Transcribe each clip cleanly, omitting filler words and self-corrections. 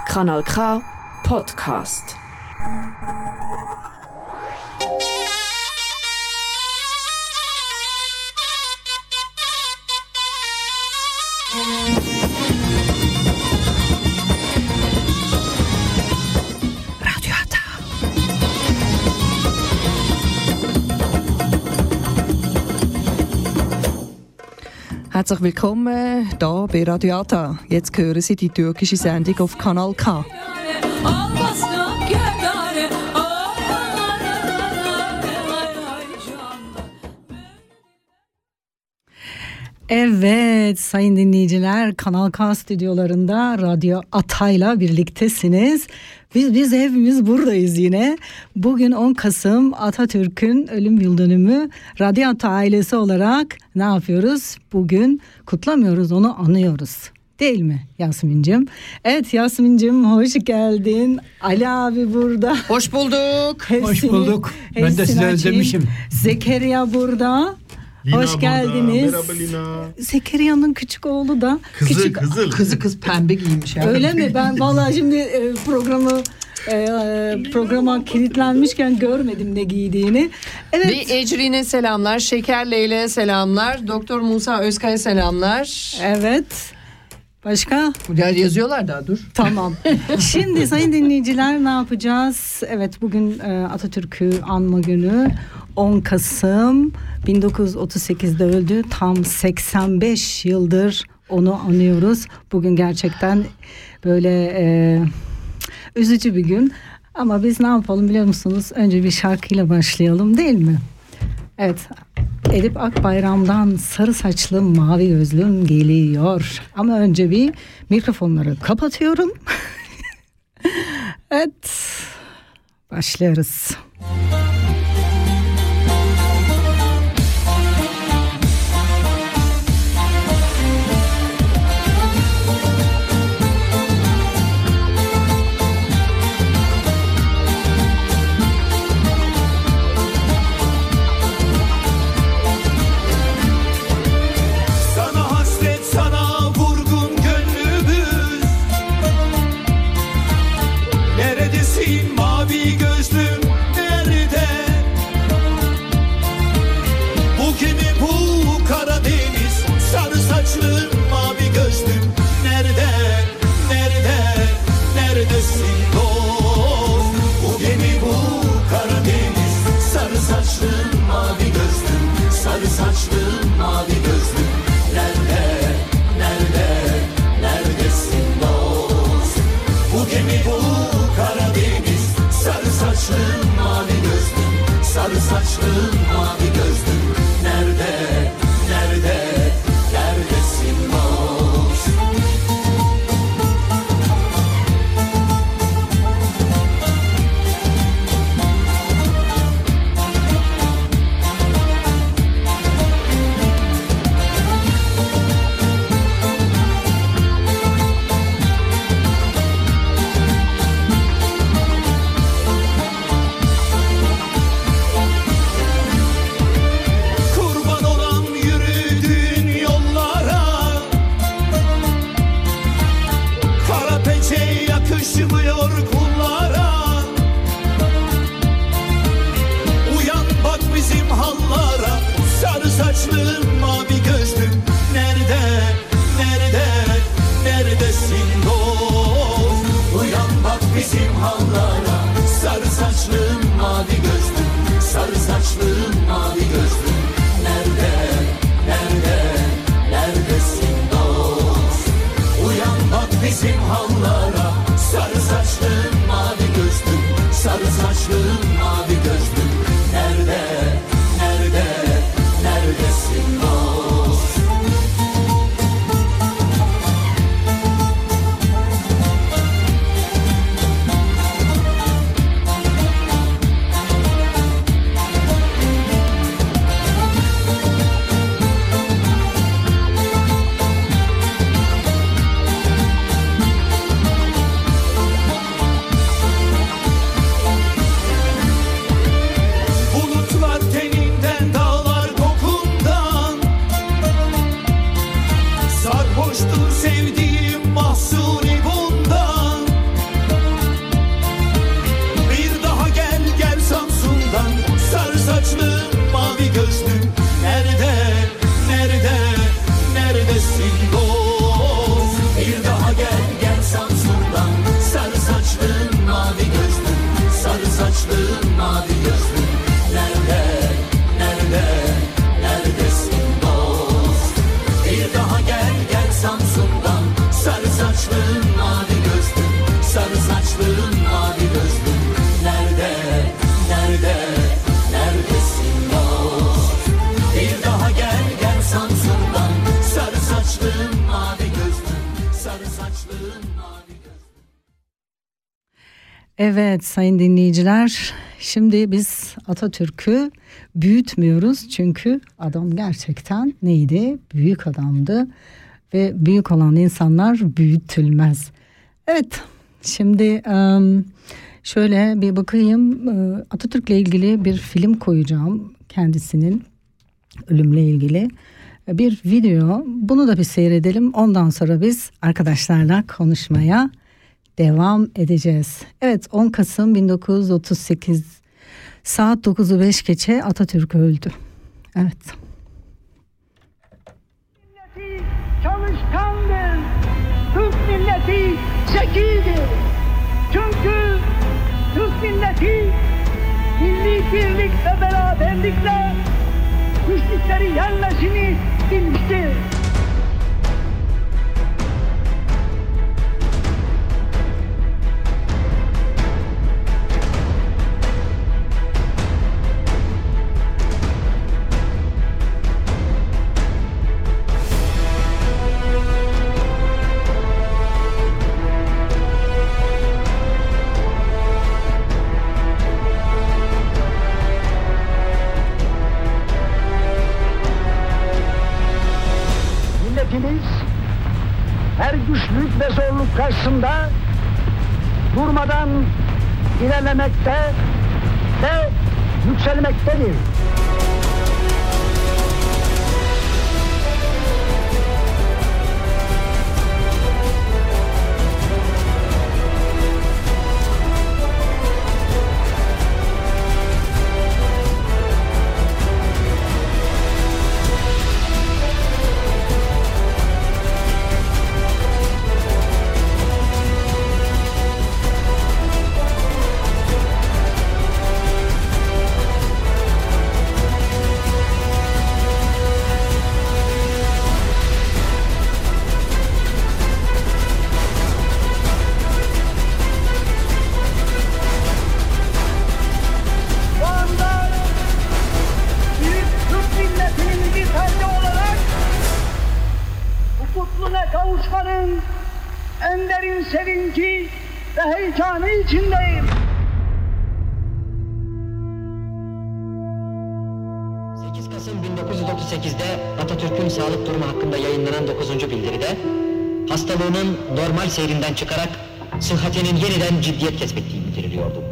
Kanal K Podcast. Herzlich willkommen hier bei Radio Ata. Jetzt hören Sie die türkische Sendung auf Kanal K. Evet sayın dinleyiciler, Kanal K stüdyolarında Radyo Ata'yla birliktesiniz. Biz hepimiz buradayız yine. Bugün 10 Kasım Atatürk'ün ölüm yıl dönümü. Radyo Ata ailesi olarak ne yapıyoruz? Bugün kutlamıyoruz, onu anıyoruz. Değil mi Yasmin'cim? Evet Yasmin'cim, hoş geldin. Ali abi burada. Hoş bulduk. Hoş bulduk. Ben de sizi özlemişim. Zekeriya burada. Lina hoş geldiniz. Merhaba Lina. Zekeriya'nın küçük oğlu da. Kızı pembe giymiş. Yani. Öyle mi? Ben vallahi şimdi programa kilitlenmişken görmedim ne giydiğini. Evet. Bir Ecrin'e selamlar, Şeker Leyle'ye selamlar, Doktor Musa Özkay'a selamlar. Evet. Başka? Yazıyorlar daha, dur. Tamam. Şimdi sayın dinleyiciler ne yapacağız? Evet, bugün Atatürk'ü anma günü. 10 Kasım 1938'de öldü. Tam 85 yıldır onu anıyoruz. Bugün gerçekten böyle üzücü bir gün. Ama biz ne yapalım biliyor musunuz? Önce bir şarkıyla başlayalım, değil mi? Evet. Edip Akbayram'dan Sarı Saçlım Mavi Gözlüm geliyor. Ama önce bir mikrofonları kapatıyorum. Evet. Başlıyoruz. saçlım, mavi gözlüm, sarı saçlım, mavi gözlüm. Nerede, nerede, neredesin dost? Bir daha gel, gel Samsun'dan. Sarı saçlım, mavi gözlüm, sarı saçlım, mavi gözlüm. Evet sayın dinleyiciler, şimdi biz Atatürk'ü büyütmüyoruz çünkü adam gerçekten neydi? Büyük adamdı ve büyük olan insanlar büyütülmez. Evet, şimdi şöyle bir bakayım, Atatürk'le ilgili bir film koyacağım, kendisinin ölümle ilgili bir video. Bunu da bir seyredelim, ondan sonra biz arkadaşlarla konuşmaya devam edeceğiz. Evet, 10 Kasım 1938 saat 9'u 5 geçe Atatürk öldü. Evet. Milleti çalışkandır. Türk milleti zekidir. Çünkü Türk milleti milli birlik ve beraberlikle güçlükleri yenmesini bilmiştir. Milletimiz her güçlük ve zorluk karşısında durmadan ilerlemekte ve yükselmektedir. Şu anda büyük Türk milletinin bir ferdi olarak bu mutluluğa kavuşmanın en derin sevinci ve heyecanı içindeyim. 8 Kasım 1938'de Atatürk'ün sağlık durumu hakkında yayınlanan 9. bildiride hastalığının normal seyrinden çıkarak sıhhatinin yeniden ciddiyet kesbettiği bildiriliyordu.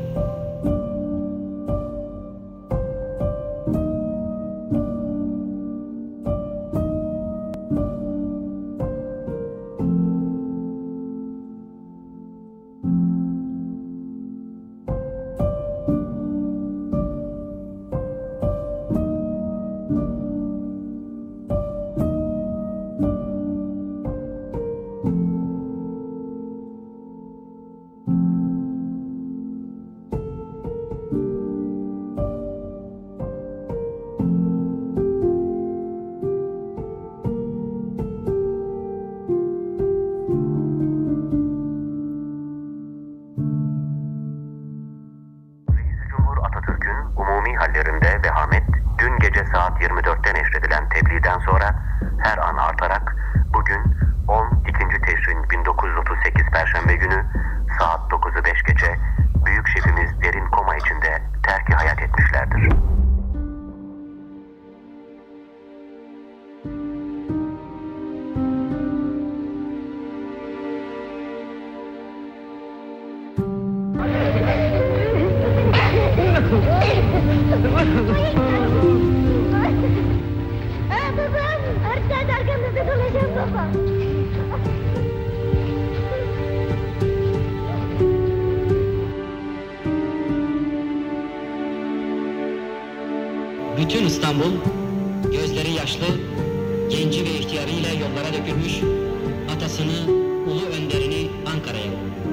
Cumhur Atatürk'ün umumi hallerinde vehamet dün gece saat 24'te neşredilen tebliğden sonra her an artarak bugün 12. Teşrin 1938 Perşembe günü saat 9'u 5 geçe büyük şefimiz derin koma içinde terk-i hayat etmişlerdir. Babam, artık arkamızda dolaşan baba. Bütün İstanbul gözleri yaşlı, genci ve ihtiyarıyla yollara dökülmüş, atasını, ulu önderini Ankara'ya yolluyor.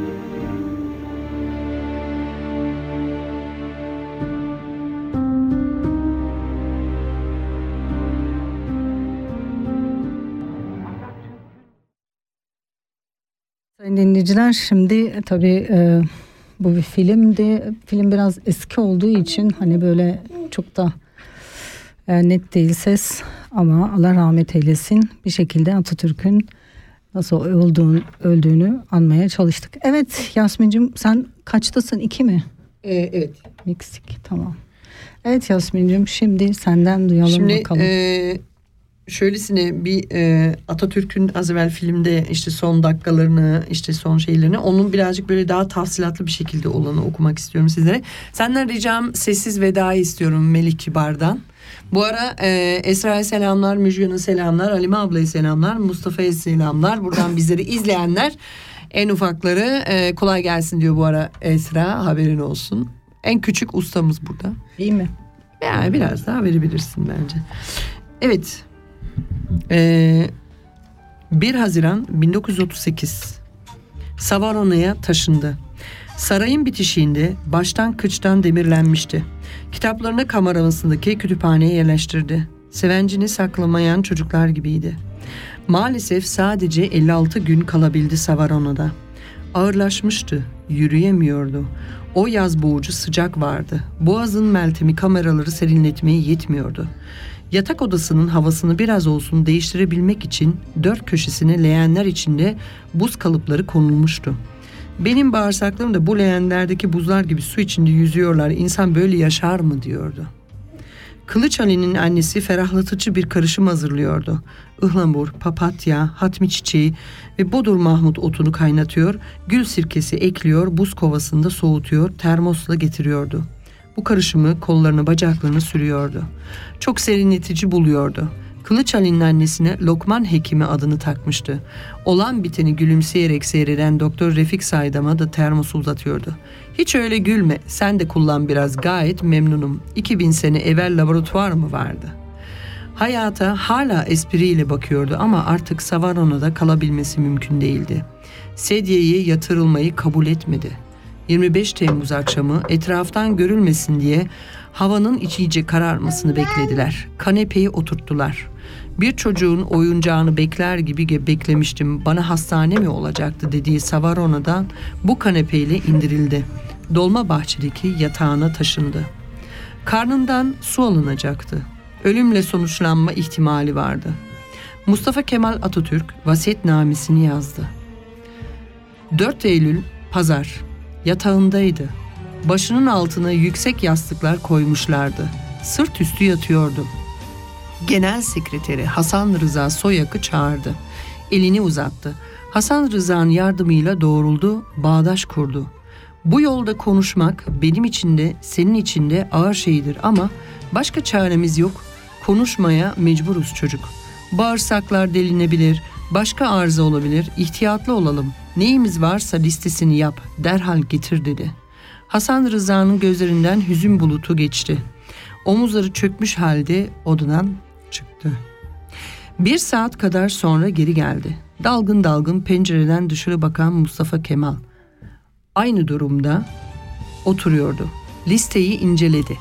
Sayın dinleyiciler, şimdi tabii bu bir filmdi. Film biraz eski olduğu için hani böyle çok da net değil ses, ama Allah rahmet eylesin. Bir şekilde Atatürk'ün nasıl öldüğünü anmaya çalıştık. Evet Yasmin'cim, sen kaçtasın? 2 mi? Evet. Meksik, tamam. Evet Yasmin'cim, şimdi senden duyalım bakalım. Şöylesine bir Atatürk'ün az evvel filmde işte son dakikalarını, işte son şeylerini, onun birazcık böyle daha tafsilatlı bir şekilde olanı okumak istiyorum sizlere. Senden ricam sessiz vedayı istiyorum Melih Kibar'dan. Bu ara Esra'ya selamlar, Müjgan'a selamlar, Halime ablaya selamlar, Mustafa'ya selamlar. Buradan bizleri izleyenler, en ufakları kolay gelsin diyor bu ara Esra, haberin olsun. En küçük ustamız burada. İyi mi? Yani biraz daha verebilirsin bence. Evet. 1 Haziran 1938 Savarona'ya taşındı. Sarayın bitişiğinde baştan kıçtan demirlenmişti. Kitaplarını kamerasındaki kütüphaneye yerleştirdi. Sevencini saklamayan çocuklar gibiydi. Maalesef sadece 56 gün kalabildi Savarona'da. Ağırlaşmıştı, yürüyemiyordu. O yaz boğucu sıcak vardı. Boğazın meltemi kameraları serinletmeye yetmiyordu. Yatak odasının havasını biraz olsun değiştirebilmek için 4 köşesine leğenler içinde buz kalıpları konulmuştu. Benim bağırsaklarım da bu leğenlerdeki buzlar gibi su içinde yüzüyorlar. İnsan böyle yaşar mı diyordu. Kılıç Ali'nin annesi ferahlatıcı bir karışım hazırlıyordu. Ihlamur, papatya, hatmi çiçeği ve bodur mahmut otunu kaynatıyor, gül sirkesi ekliyor, buz kovasında soğutuyor, termosla getiriyordu. Bu karışımı kollarını bacaklarını sürüyordu. Çok serinletici buluyordu. Kılıç Ali'nin annesine Lokman Hekimi adını takmıştı. Olan biteni gülümseyerek seyreden Doktor Refik Saydam'a da termosu uzatıyordu. Hiç öyle gülme, sen de kullan biraz, gayet memnunum. 2000 sene evvel laboratuvar mı vardı? Hayata hala espriyle bakıyordu ama artık Savarona'da kalabilmesi mümkün değildi. Sedyeye yatırılmayı kabul etmedi. 25 Temmuz akşamı etraftan görülmesin diye havanın iyice kararmasını beklediler. Kanepeyi oturttular. Bir çocuğun oyuncağını bekler gibi beklemiştim. Bana hastane mi olacaktı dediği Savarona'dan bu kanepeyle indirildi. Dolmabahçe'deki yatağına taşındı. Karnından su alınacaktı. Ölümle sonuçlanma ihtimali vardı. Mustafa Kemal Atatürk vasiyetnamesini yazdı. 4 Eylül Pazar. Yatağındaydı. Başının altına yüksek yastıklar koymuşlardı. Sırt üstü yatıyordu. Genel Sekreteri Hasan Rıza Soyak'ı çağırdı. Elini uzattı. Hasan Rıza'nın yardımıyla doğruldu, bağdaş kurdu. Bu yolda konuşmak benim için de senin için de ağır şeydir ama başka çaremiz yok. Konuşmaya mecburuz çocuk. Bağırsaklar delinebilir, başka arıza olabilir, ihtiyatlı olalım. Neyimiz varsa listesini yap, derhal getir dedi. Hasan Rıza'nın gözlerinden hüzün bulutu geçti. Omuzları çökmüş halde odadan çıktı. 1 saat kadar sonra geri geldi. Dalgın dalgın pencereden dışarı bakan Mustafa Kemal aynı durumda oturuyordu. Listeyi inceledi.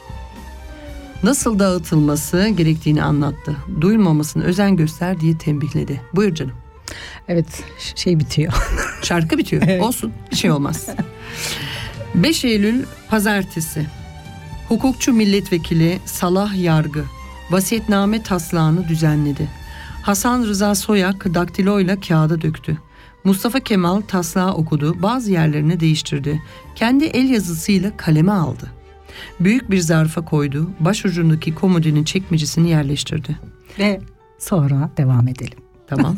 Nasıl dağıtılması gerektiğini anlattı. Duyulmamasına özen göster diye tembihledi. Buyur canım. Evet, bitiyor. Şarkı bitiyor. Evet. Olsun, bir şey olmaz. 5 Eylül Pazartesi. Hukukçu milletvekili Salah Yargı vasiyetname taslağını düzenledi. Hasan Rıza Soyak daktiloyla kağıda döktü. Mustafa Kemal taslağı okudu, bazı yerlerini değiştirdi. Kendi el yazısıyla kaleme aldı. Büyük bir zarfa koydu, başucundaki komodinin çekmecesini yerleştirdi. Ve sonra devam edelim. Tamam.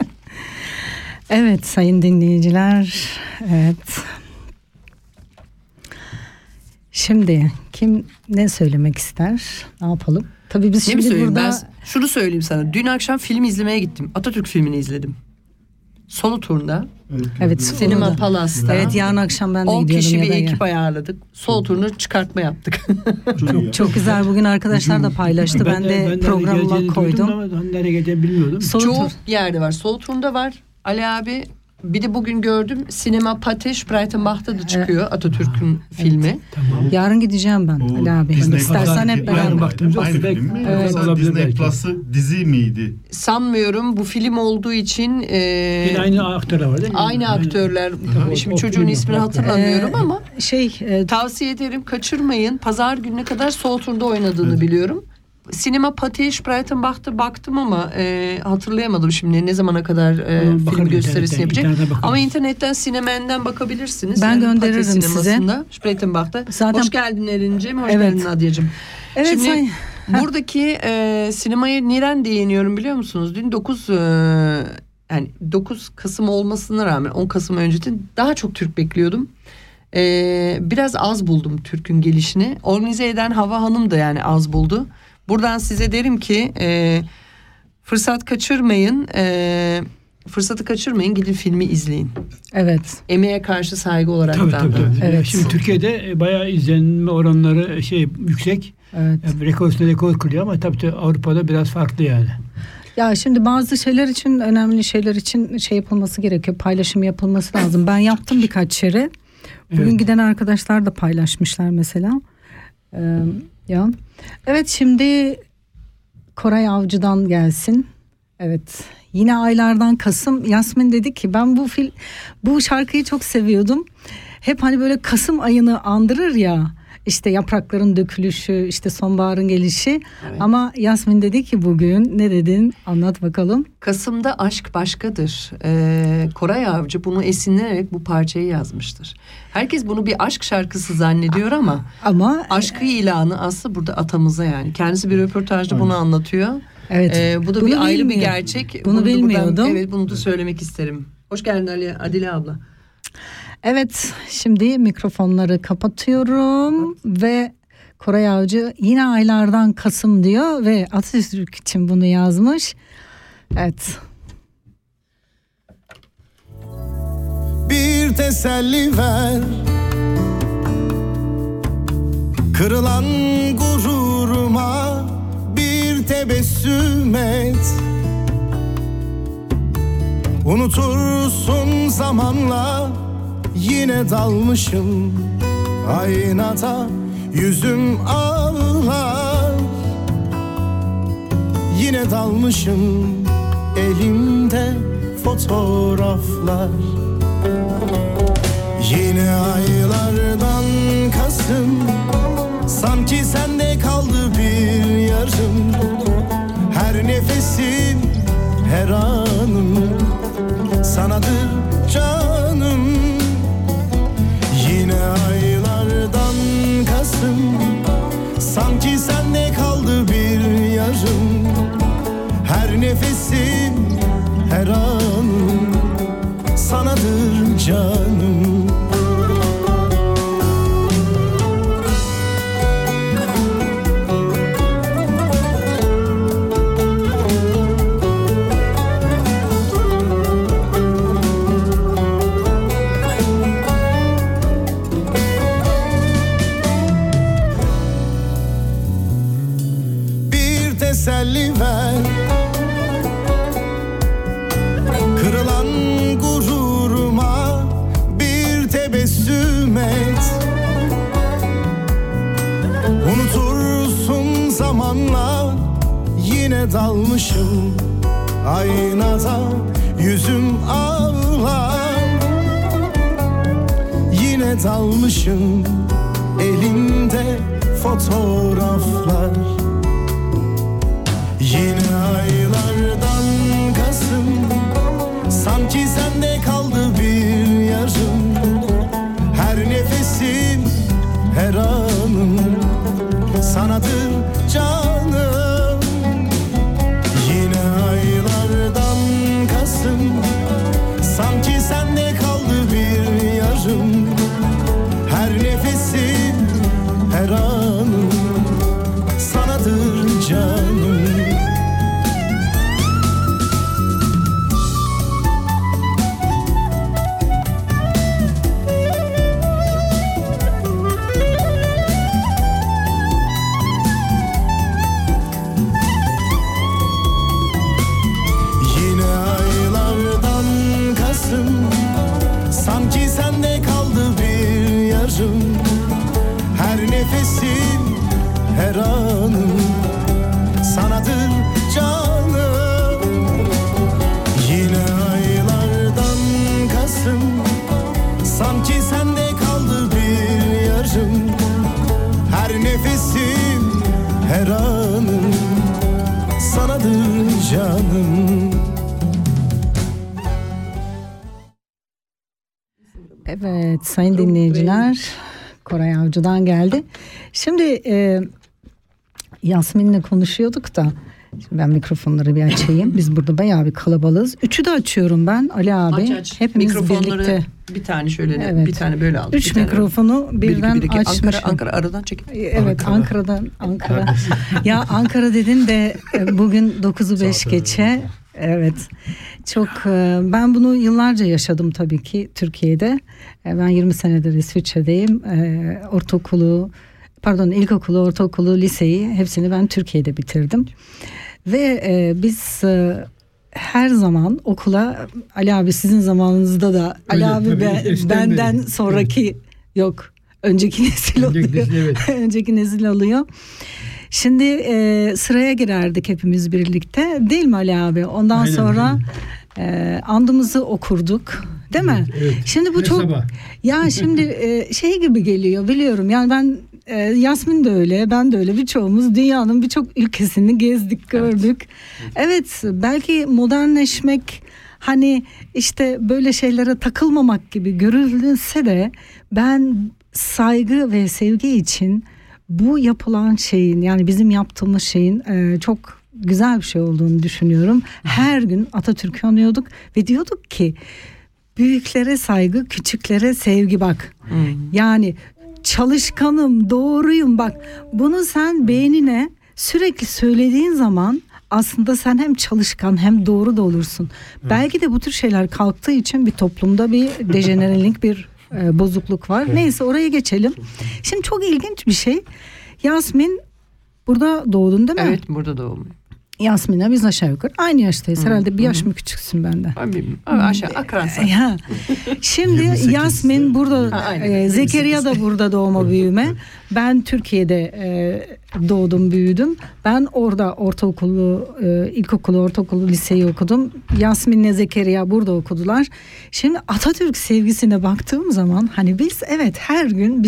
Evet sayın dinleyiciler, evet. Şimdi kim ne söylemek ister? Ne yapalım? Tabii biz şimdi burada... Ben şunu söyleyeyim sana. Dün akşam film izlemeye gittim. Atatürk filmini izledim. Solo turunda. Evet. Sinema Palas'ta. Evet, yarın akşam ben de 10 gidiyorum. 10 kişi bir ekip ayarladık. Solo turunu çıkartma yaptık. Çok güzel. Bugün arkadaşlar da paylaştı. Ben de programıma koydum. Nereye geleceğini bilmiyordum. Çok yerde var. Solo turunda var. Ali abi Bir de bugün gördüm Sinema Pate Spreitenbach'ta da çıkıyor Atatürk'ün filmi. Tamam. Yarın gideceğim ben Ali abi. Disney İstersen hep Yarın beraber. baktığımız Aynı olsun. film mi? Evet. Mesela Olabilir Disney belki. Plus'ı dizi miydi? Sanmıyorum, bu film olduğu için Yine aynı aktörler var değil mi? aynı aktörler. Şimdi O çocuğun filmi ismini farklı. hatırlamıyorum ama Tavsiye ederim, kaçırmayın. Pazar gününe kadar Sol Tur'da oynadığını biliyorum. Sinema Pate Spreitenbach'ta baktım ama hatırlayamadım şimdi ne zamana kadar film gösterisini yapacak. Ama internetten Sinemen'den bakabilirsiniz. Ben Yani gönderirim Pate size. Sineması'nda, Spreitenbach'ta. Zaten... Hoş geldin Erin'ciğim, hoş Evet. geldin Nadia'cığım. Evet, Şimdi buradaki sinemaya niren değiniyorum biliyor musunuz? Dün 9 Kasım olmasına rağmen 10 Kasım öncesi daha çok Türk bekliyordum. Biraz az buldum Türk'ün gelişini. Organize eden Hava Hanım da yani az buldu. Buradan size derim ki fırsatı kaçırmayın, gidin filmi izleyin. Evet. Emeğe karşı saygı olarak Tabii. Evet. Şimdi Türkiye'de bayağı izlenme oranları yüksek. Evet. Yani rekor üstüne rekor kırıyor ama tabii Avrupa'da biraz farklı yani. Ya şimdi bazı şeyler için, önemli şeyler için yapılması gerekiyor. Paylaşım yapılması lazım. Ben yaptım birkaç yere. Bugün giden arkadaşlar da paylaşmışlar mesela. Ya. Evet, şimdi Koray Avcı'dan gelsin. Evet. Yine aylardan Kasım. Yasmin dedi ki ben bu şarkıyı çok seviyordum. Hep hani böyle Kasım ayını andırır ya. İşte yaprakların dökülüşü, işte sonbaharın gelişi. Evet. Ama Yasmin dedi ki bugün ne dedin? Anlat bakalım. Kasım'da aşk başkadır. Koray Avcı bunu esinlenerek bu parçayı yazmıştır. Herkes bunu bir aşk şarkısı zannediyor ama aşkı ilanı aslında burada atamıza yani. Kendisi bir röportajda bunu anlatıyor. Evet. Bu da bir ayrı bir gerçek. Bunu bilmiyordum. Evet, bunu da söylemek isterim. Hoş geldin Adile abla. Evet, şimdi mikrofonları kapatıyorum ve Koray Avcı yine aylardan Kasım diyor ve Atatürk için bunu yazmış. Evet. Bir teselli ver, kırılan gururuma bir tebessüm et. Unutursun zamanla, yine dalmışım aynada, yüzüm ağlar. Yine dalmışım, elimde fotoğraflar. Yine aylardan Kasım, sanki sende kaldı bir yarım. Her nefesim, her anım sanadır canım. Yine aylardan Kasım, sanki sende kaldı bir yarım. Her nefesim, her anım sanadır canım. Teselli ver, kırılan gururuma bir tebessüm et. Unutursun zamanla, yine dalmışım aynada, yüzüm ağlar. Yine dalmışım, elimde fotoğraflar. Yine aylardan Kasım, sanki sende kaldı bir yarım. Her nefesim, her anım sanadır canım. Yine aylardan Kasım, sanki sende kaldı bir yarım. Her nefesim, her anım sanadır canım. her anım sanadır canım. Yine aylardan Kasım, sanki sende kaldı bir yarım. Her nefesim, her anım sanadır canım. Evet sayın dinleyiciler, Koray Avcı'dan geldi. Şimdi Yasmin'le konuşuyorduk da, şimdi ben mikrofonları bir açayım. Biz burada bayağı bir kalabalığız. Üçü de açıyorum ben, Ali abi. Aç. Hepimiz mikrofonları birlikte. Bir tane şöyle, Evet. bir tane böyle aldık. Üç mikrofonu birden açmışım. Ankara aradan çek. Evet, Ankara. Ya Ankara dedin de bugün 9'u 5 geçe. Evet. Çok ben bunu yıllarca yaşadım tabii ki Türkiye'de. Ben 20 senedir İsviçre'deyim. İlkokulu, ortaokulu, liseyi hepsini ben Türkiye'de bitirdim. Ve biz her zaman okula, Ali abi sizin zamanınızda da Ali abi benden sonraki yok. Önceki nesil oluyor. Önceki nesil oluyor. Şimdi sıraya girerdik hepimiz birlikte. Değil mi Ali abi? Ondan sonra andımızı okurduk. Değil mi? Evet. Şimdi bu Her çok sabah. ya şimdi şey gibi geliyor, biliyorum. Yani ben Yasmin de öyle, ben de öyle, birçoğumuz dünyanın birçok ülkesini gezdik, gördük. Evet, belki modernleşmek, hani işte böyle şeylere takılmamak gibi görülse de ben saygı ve sevgi için bu yapılan şeyin, yani bizim yaptığımız şeyin çok güzel bir şey olduğunu düşünüyorum. Her gün Atatürk'ü anıyorduk ve diyorduk ki büyüklere saygı, küçüklere sevgi bak. Yani çalışkanım, doğruyum bak. Bunu sen beynine sürekli söylediğin zaman aslında sen hem çalışkan hem doğru da olursun. Belki de bu tür şeyler kalktığı için bir toplumda bir dejenerelik, bir bozukluk var. Neyse, oraya geçelim. Şimdi çok ilginç bir şey. Yasmin burada doğdun değil mi? Evet, burada doğdum. Yasmin'le biz aşağı yukarı aynı yaştayız. Herhalde bir yaş mı küçüksün benden? Aşağı akransa. Şimdi Yasmin burada, Zekeriya da burada doğma büyüme. Ben Türkiye'de doğdum, büyüdüm. Ben orada ilkokulu, ortaokulu, liseyi okudum. Yasmin'le Zekeriya burada okudular. Şimdi Atatürk sevgisine baktığım zaman, hani biz her gün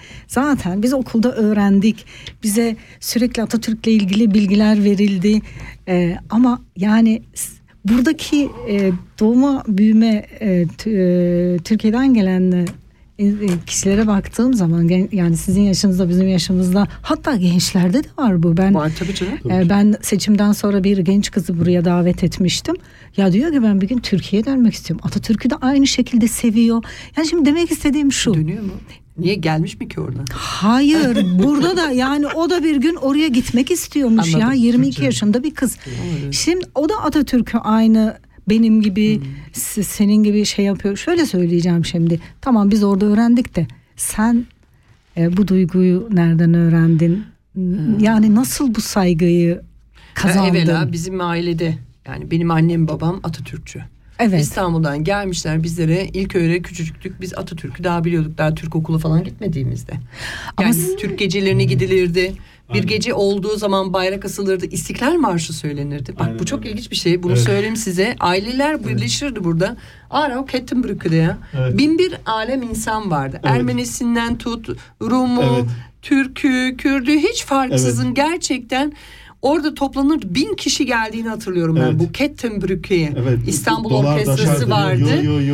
biz okulda öğrendik. Bize sürekli Atatürk'le ilgili bilgiler verildi. Ama yani buradaki doğma büyüme Türkiye'den gelen kişilere baktığım zaman, yani sizin yaşınızda, bizim yaşımızda, hatta gençlerde de var bu. Var tabii canım. Ben seçimden sonra bir genç kızı buraya davet etmiştim. Ya diyor ki ben bir gün Türkiye'ye dönmek istiyorum. Atatürk'ü de aynı şekilde seviyor. Yani şimdi demek istediğim şu. Dönüyor mu? Niye, gelmiş mi ki oradan? Hayır, burada da yani o da bir gün oraya gitmek istiyormuş. Anladım. Ya 22 yaşında bir kız. Şimdi o da Atatürk'ü aynı benim gibi, senin gibi şey yapıyor. Şöyle söyleyeceğim şimdi. Tamam, biz orada öğrendik de sen bu duyguyu nereden öğrendin? Yani nasıl bu saygıyı kazandın? Evvela bizim ailede, yani benim annem babam Atatürkçü. Evet. İstanbul'dan gelmişler bizlere, ilk öyle küçücüktük, biz Atatürk'ü daha biliyorduk, daha Türk okulu falan gitmediğimizde. Yani Türk gecelerine gidilirdi. Bir gece olduğu zaman bayrak asılırdı, İstiklal Marşı söylenirdi. Bak bu çok ilginç bir şey. Bunu söyleyeyim size. Aileler birleşirdi burada. Arau Kettenbrücke'de ya. 1001 alem insan vardı. Ermenisinden tut, Rumu, Türk'ü, Kürd'ü hiç farksızın gerçekten orada toplanır, 1000 kişi geldiğini hatırlıyorum ben bu Kettenbrücke'ye. İstanbul Orkestrası vardı.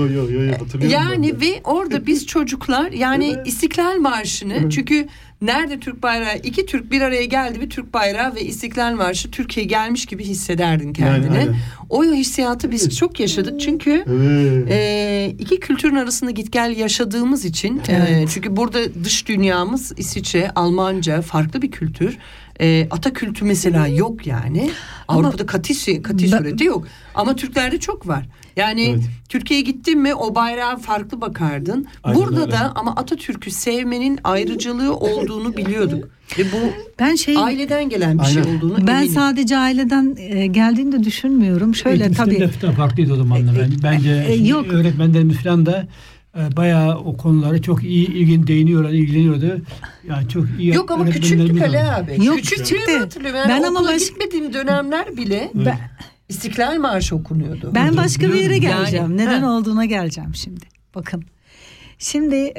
Yani ve orada biz çocuklar, yani İstiklal Marşı'nı, çünkü nerede Türk bayrağı, iki Türk bir araya geldi, bir Türk bayrağı ve İstiklal Marşı, Türkiye gelmiş gibi hissederdin kendini. Yani, o hissiyatı biz çok yaşadık çünkü iki kültürün arasında git gel yaşadığımız için. Çünkü burada dış dünyamız İsviçre, Almanca, farklı bir kültür. Ata kültü mesela yok yani. Avrupa'da katı sureti yok. Ama Türklerde çok var. Yani Türkiye'ye gittin mi o bayrağa farklı bakardın. Burada da ama Atatürk'ü sevmenin ayrıcalığı olduğunu biliyorduk. Ve bu aileden gelen bir şey olduğunu eminim. Ben sadece aileden geldiğini de düşünmüyorum. Şöyle tabii. Farklıydı o zaman da. Bence öğretmenlerimiz falan da bayağı o konulara çok iyi ilgileniyordu. Yani çok iyi. Yok ama küçüktük Ali abi. Yok, küçüktü. Hatırlıyorum. Yani Ben ama okula gitmediğim dönemler bile İstiklal Marşı okunuyordu. Ben başka bir yere geleceğim. Yani, neden olduğuna geleceğim şimdi. Bakın. Şimdi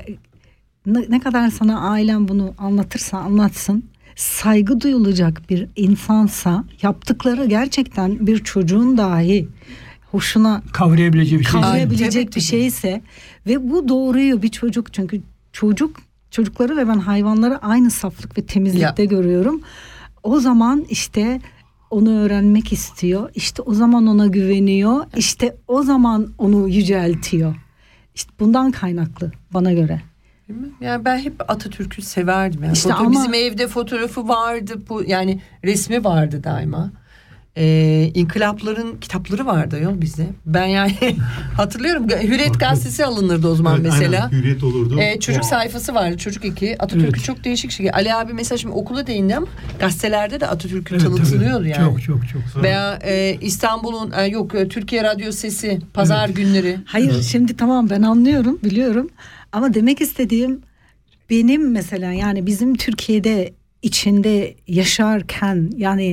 ne kadar sana ailen bunu anlatırsa anlatsın, saygı duyulacak bir insansa, yaptıkları gerçekten bir çocuğun dahi hoşuna kavrayabilecek bir şeyse ve bu doğruyu bir çocuk, çünkü çocukları ve ben hayvanları aynı saflık ve temizlikte görüyorum. O zaman işte onu öğrenmek istiyor. İşte o zaman ona güveniyor. İşte o zaman onu yüceltiyor. İşte bundan kaynaklı bana göre. Yani ben hep Atatürk'ü severdim. Yani İşte bizim evde fotoğrafı vardı. Yani resmi vardı daima. İnkılapların kitapları vardı ya bizde. Ben yani hatırlıyorum. Hürriyet gazetesi alınırdı o zaman mesela. Aynen, Hürriyet olurdu. Çocuk sayfası vardı. Çocuk eki. Atatürk'ü çok değişik şey. Ali abi mesela şimdi okula değindi ama gazetelerde de Atatürk'ü tanıtılıyordu yani. Çok. Veya İstanbul'un Türkiye Radyo Sesi pazar günleri. Hayır şimdi tamam ben anlıyorum, biliyorum. Ama demek istediğim benim mesela yani bizim Türkiye'de içinde yaşarken yani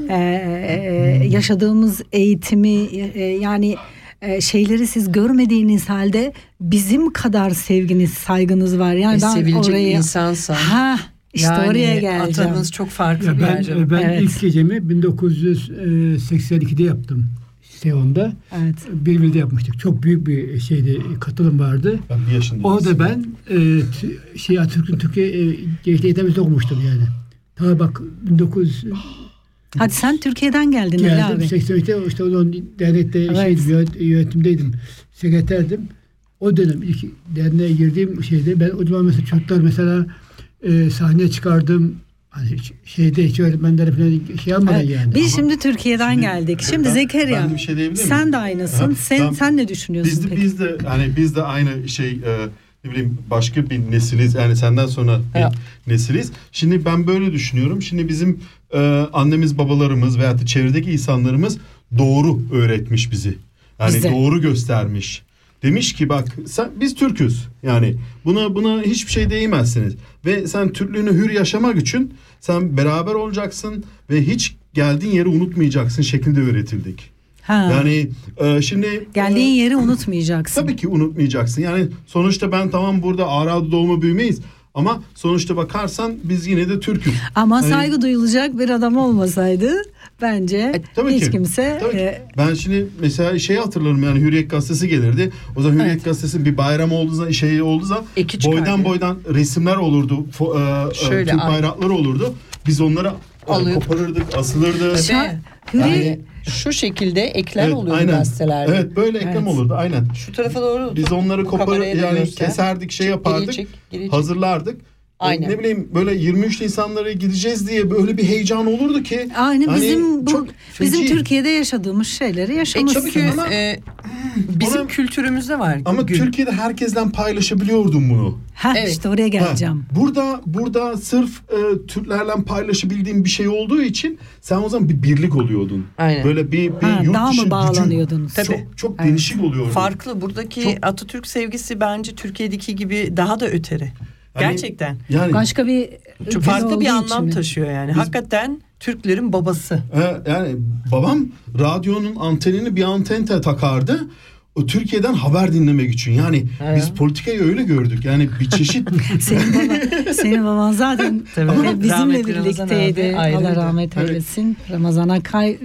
yaşadığımız eğitimi yani şeyleri siz görmediğiniz halde bizim kadar sevginiz, saygınız var. Yani ben sevilecek oraya insansa. İşte yani oraya geleceğim. Atanız çok farklı bir yer. Ben ilk gecemi 1982'de yaptım. Seyon'da. Evet. Birvil'de yapmıştık. Çok büyük bir katılım vardı. Ben bir yaşındayım. Orada ben Atatürk'ün Türkiye Gençlik Eğitim'de okumuştum yani. Tabii bak 19... Hadi sen Türkiye'den geldin Ali abi. 83'te işte onun dernekte yönetimdeydim. Sekreterdim. O dönem ilk derneğe girdiğim şeyde ben o zaman mesela çocuklar mesela sahneye çıkardım. Hani hiç öğretmenlere falan yapmadan yani. Biz şimdi Türkiye'den geldik. Şimdi Zekeriya. Ben de bir şey diyebilir miyim? Sen de aynısın. Sen ne düşünüyorsun peki? Biz de aynı ne bileyim başka bir nesiliz. Yani senden sonra bir nesiliz. Şimdi ben böyle düşünüyorum. Şimdi bizim annemiz, babalarımız veyahut da çevredeki insanlarımız doğru öğretmiş bizi. Yani Bizde. Doğru göstermiş. Demiş ki bak biz Türk'üz. Yani buna hiçbir şey değmezsiniz. Ve sen Türklüğünü hür yaşamak için sen beraber olacaksın ve hiç geldiğin yeri unutmayacaksın şeklinde öğretildik. Yani şimdi geldiğin yeri unutmayacaksın. Tabii ki unutmayacaksın. Yani sonuçta ben tamam burada Ağrı'da doğma büyümeyiz. Ama sonuçta bakarsan biz yine de Türk'üz. Ama saygı duyulacak bir adam olmasaydı bence hiç kimse... Ben şimdi mesela hatırlarım yani Hürriyet Gazetesi gelirdi. O zaman Hürriyet Gazetesi'nin bir bayram olduğu zaman boydan resimler olurdu. Türk bayrakları olurdu. Biz onları koparırdık, asılırdı. Yani şu şekilde eklem oluyordu gazetelerde. Evet böyle eklem olurdu aynen. Şu tarafa doğru. Biz onları keserdik yapardık. Hazırlardık. Aynen. Ne bileyim böyle 23 Nisanlara gideceğiz diye böyle bir heyecan olurdu ki. Aynen bizim Türkiye'de yaşadığımız şeyleri yaşamışsınız. Bizim kültürümüzde var. Ama Türkiye'de herkesten paylaşabiliyordum bunu. İşte oraya geleceğim. Burada sırf Türklerle paylaşabildiğim bir şey olduğu için sen o zaman bir birlik oluyordun. Aynen. Böyle bir yurt daha dışı mı bağlanıyordunuz? Çok değişik oluyordu. Farklı. Buradaki Atatürk sevgisi bence Türkiye'deki gibi daha da öteri. Gerçekten. Yani başka bir çok farklı bir anlam taşıyor yani. Hakikaten Türklerin babası. Yani babam radyonun antenini bir antente takardı. O Türkiye'den haber dinlemek için. Yani biz politikayı öyle gördük. Yani bir çeşit. Senin baban zaten bizimle birlikteydi. Allah rahmet eylesin. Ramazan Akay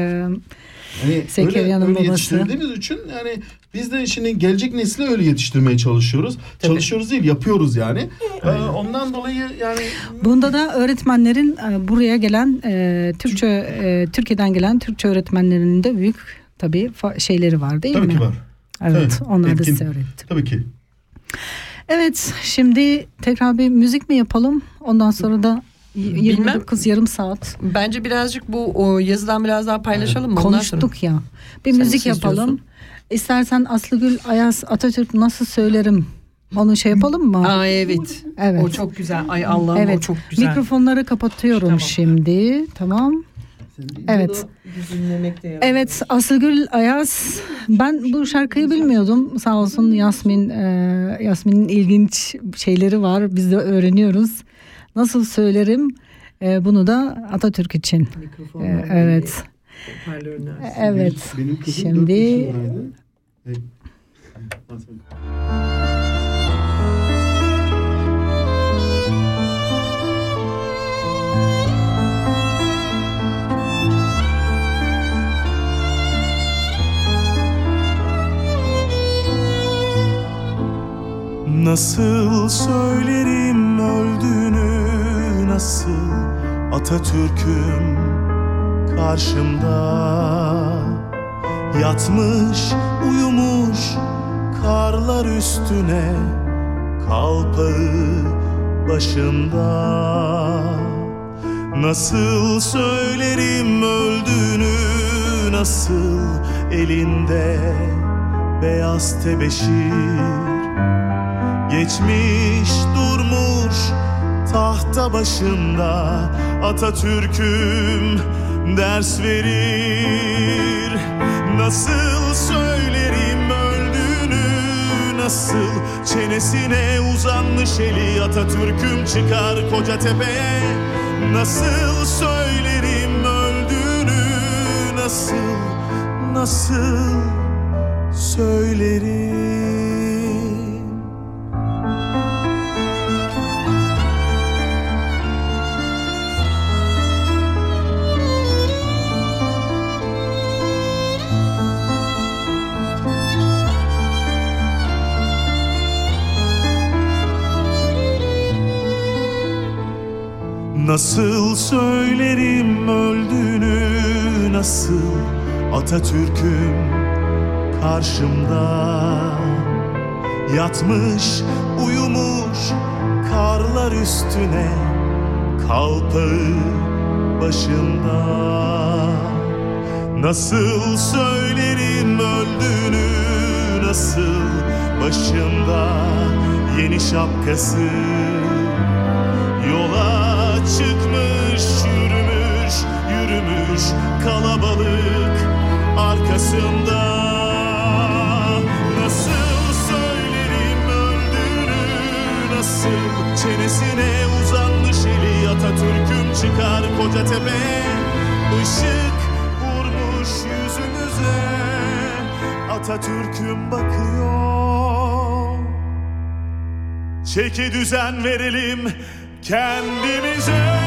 Zekeriya'nın babası. Öyle yetiştirdiğimiz için yani biz de şimdi gelecek nesli öyle yetiştirmeye çalışıyoruz. Tabii. Çalışıyoruz değil, yapıyoruz yani. Ondan dolayı yani bunda da öğretmenlerin buraya gelen Türkiye'den gelen Türkçe öğretmenlerinin de büyük tabii şeyleri var değil mi? Tabii ki var. Evet, onlar da size öğretti. Tabii ki. Evet, şimdi tekrar bir müzik mi yapalım? Ondan sonra da 29 yarım saat. Bence birazcık bu yazıdan biraz daha paylaşalım mı? Konuştuk ya. Bir müzik yapalım. İstersen Aslıgül Ayaz Atatürk nasıl söylerim? Onu yapalım mı? Evet. O çok güzel. Ay Allah'ım o çok güzel. Mikrofonları kapatıyorum şimdi. Tamam. Evet. Evet, Aslıgül Ayaz. Ben bu şarkıyı bilmiyordum. Sağ olsun Yasmin'in ilginç şeyleri var. Biz de öğreniyoruz. Nasıl söylerim? Bunu da Atatürk için. Evet. Evet. Benim kızım Şimdi 4 yaşındaydı. Nasıl söylerim öldüğünü, nasıl Atatürk'üm karşımda yatmış uyumuş karlar üstüne, kalpağı başında. Nasıl söylerim öldüğünü, nasıl elinde beyaz tebeşir, geçmiş durmuş tahta başında, Atatürk'üm ders verir. Nasıl söylerim öldüğünü, nasıl çenesine uzanmış eli, Atatürk'üm çıkar Kocatepe'ye. Nasıl söylerim öldüğünü, nasıl söylerim. Nasıl söylerim öldüğünü, nasıl Atatürk'üm karşımda yatmış uyumuş karlar üstüne, kalpağı başında. Nasıl söylerim öldüğünü, nasıl başında yeni şapkası, yola çıkmış yürümüş kalabalık arkasında. Nasıl söylerim öldüğünü, nasıl çenesine uzanmış eli, Atatürk'üm çıkar Kocatepe'ye. Işık vurmuş yüzümüze, Atatürk'üm bakıyor. Çeki düzen verelim kendimize.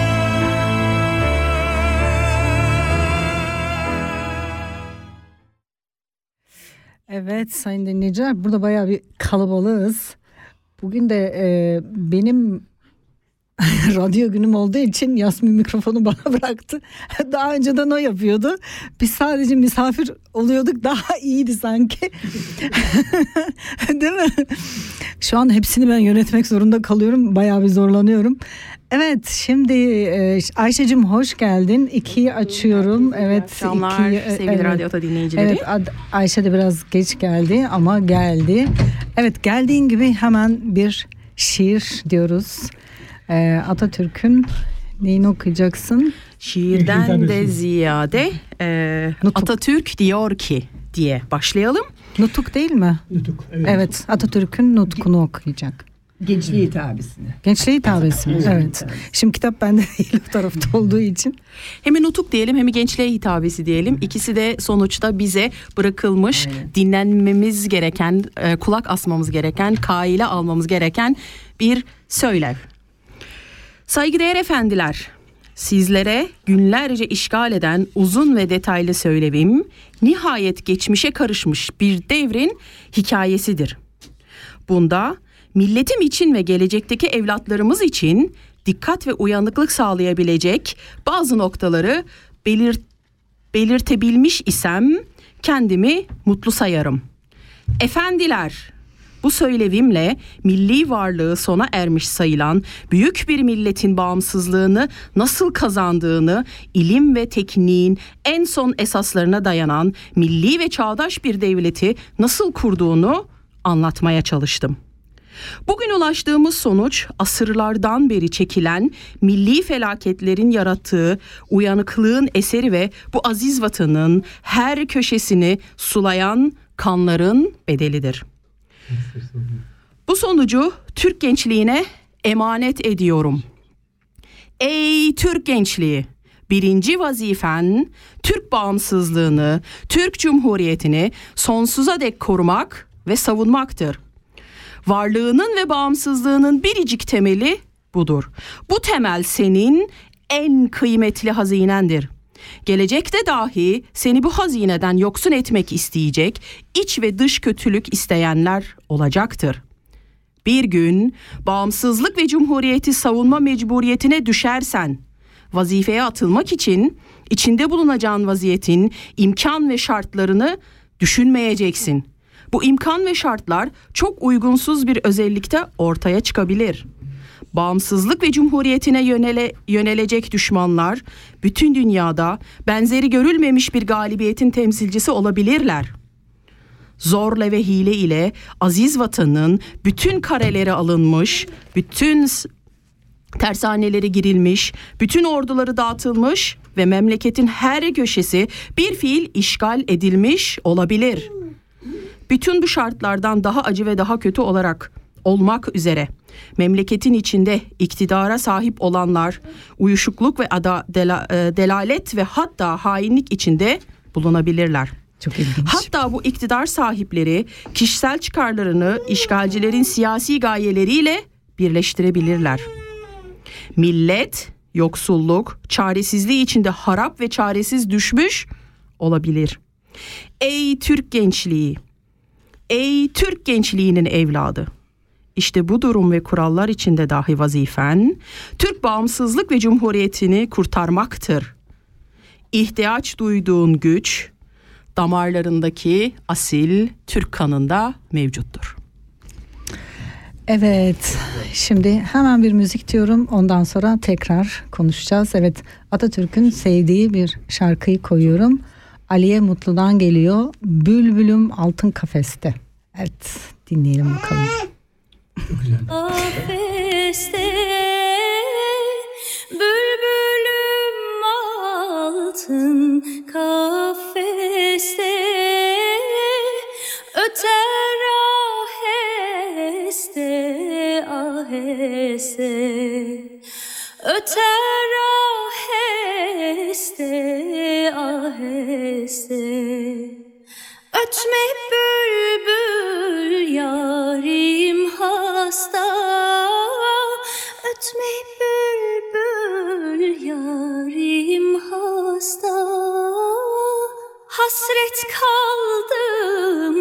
evet sayın dinleyiciler, burada bayağı bir kalabalığız. Bugün de benim radyo günüm olduğu için Yasmin mikrofonu bana bıraktı. Daha önceden o yapıyordu. Biz sadece misafir oluyorduk. Daha iyiydi sanki. Değil mi? Şu an hepsini ben yönetmek zorunda kalıyorum. Bayağı bir zorlanıyorum. Evet, şimdi Ayşe'cim hoş geldin. 2'yi açıyorum. Evet, akşamlar sevgili Radyo Ata dinleyicileri. Evet, Ayşe de biraz geç geldi ama geldi. Evet, geldiğin gibi hemen bir şiir diyoruz. Atatürk'ün neyini okuyacaksın? Şiirden de ziyade Atatürk diyor ki diye başlayalım. Nutuk değil mi? Nutuk, evet. Evet, Atatürk'ün nutkunu okuyacak. Gençliğe hitabesini. Gençliğe hitabesi mi? Evet. Şimdi kitap bende değil, o tarafta olduğu için. Hem nutuk diyelim hem gençliğe hitabesi diyelim. İkisi de sonuçta bize bırakılmış, dinlenmemiz gereken, kulak asmamız gereken, kaile almamız gereken bir söylev. Saygıdeğer efendiler, sizlere günlerce işgal eden uzun ve detaylı söylevim, nihayet geçmişe karışmış bir devrin hikayesidir. Bunda milletim için ve gelecekteki evlatlarımız için dikkat ve uyanıklık sağlayabilecek bazı noktaları belirtebilmiş isem kendimi mutlu sayarım. Efendiler, bu söylevimle milli varlığı sona ermiş sayılan büyük bir milletin bağımsızlığını nasıl kazandığını, ilim ve tekniğin en son esaslarına dayanan milli ve çağdaş bir devleti nasıl kurduğunu anlatmaya çalıştım. Bugün ulaştığımız sonuç asırlardan beri çekilen milli felaketlerin yarattığı uyanıklığın eseri ve bu aziz vatanın her köşesini sulayan kanların bedelidir. Bu sonucu Türk gençliğine emanet ediyorum. Ey Türk gençliği! Birinci vazifen Türk bağımsızlığını, Türk Cumhuriyeti'ni sonsuza dek korumak ve savunmaktır. Varlığının ve bağımsızlığının biricik temeli budur. Bu temel senin en kıymetli hazinendir. Gelecekte dahi seni bu hazineden yoksun etmek isteyecek, iç ve dış kötülük isteyenler olacaktır. Bir gün bağımsızlık ve cumhuriyeti savunma mecburiyetine düşersen, vazifeye atılmak için içinde bulunacağın vaziyetin imkan ve şartlarını düşünmeyeceksin. Bu imkan ve şartlar çok uygunsuz bir özellikte ortaya çıkabilir. Bağımsızlık ve cumhuriyetine yönelecek düşmanlar bütün dünyada benzeri görülmemiş bir galibiyetin temsilcisi olabilirler. Zorla ve hile ile aziz vatanın bütün kareleri alınmış, bütün tersaneleri girilmiş, bütün orduları dağıtılmış ve memleketin her köşesi bir fiil işgal edilmiş olabilir. Bütün bu şartlardan daha acı ve daha kötü olmak üzere memleketin içinde iktidara sahip olanlar uyuşukluk ve delalet ve hatta hainlik içinde bulunabilirler. Çok ilginç. Hatta bu iktidar sahipleri kişisel çıkarlarını işgalcilerin siyasi gayeleriyle birleştirebilirler. Millet yoksulluk, çaresizliği içinde harap ve çaresiz düşmüş olabilir. Ey Türk gençliği! Ey Türk gençliğinin evladı! İşte bu durum ve kurallar içinde dahi vazifen Türk bağımsızlık ve cumhuriyetini kurtarmaktır. İhtiyaç duyduğun güç damarlarındaki asil Türk kanında mevcuttur. Evet, şimdi hemen bir müzik diyorum, ondan sonra tekrar konuşacağız. Evet, Atatürk'ün sevdiği bir şarkıyı koyuyorum. Aliye Mutlu'dan geliyor. Bülbülüm altın kafeste. Evet, dinleyelim bakalım. Çok güzel. Kafeste bülbülüm altın kafeste öter aheste aheste öter aheste aheste ötme bülbül yarim hasta ötme bülbül yarim hasta hasret kaldım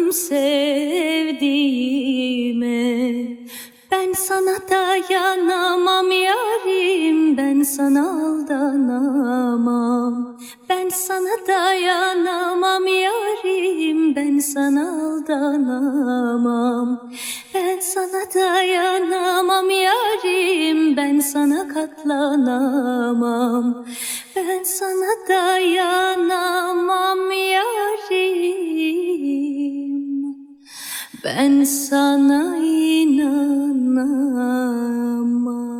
sevdiğime ben sana dayanamam yarim ben sana aldanamam ben sana dayanamam yarim ben sana aldanamam ben sana dayanamam yarim ben sana katlanamam ben sana dayanamam yarim ben sana inanamam.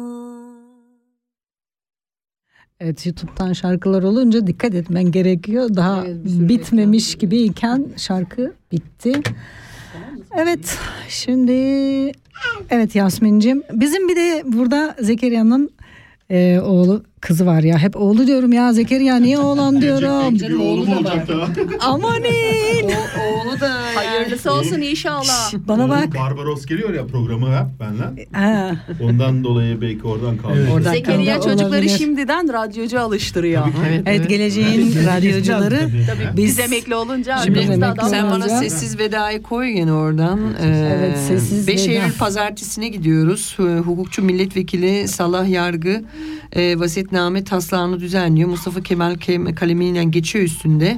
Evet, YouTube'dan şarkılar olunca dikkat etmen gerekiyor. Daha bitmemiş gibiyken şarkı bitti. Evet, şimdi evet Yasmin'cim, bizim bir de burada Zekeriya'nın oğlu kızı var ya, hep oğlu diyorum ya, Zekeriya niye oğlan diyorum. Bir oğlum olacak da. Amanin. Oğlu da hayırlısı olsun inşallah. Bana bak. Barbaros geliyor ya programa hep benden. Ha. Ondan dolayı belki oradan kaldı. Evet. Zekeriya çocukları olabilir. şimdiden radyocu alıştırıyor. Evet, geleceğin radyocuları. Tabii biz emekli olunca Şimdi biz de emekli adam sen bana olunca- sessiz vedayı koy yine oradan. Evet, sessiz 5 veda. Eylül pazartesine gidiyoruz. Hukukçu milletvekili Salah Yargı vasiyetname taslağını düzenliyor. Mustafa Kemal kalemiyle geçiyor üstünde.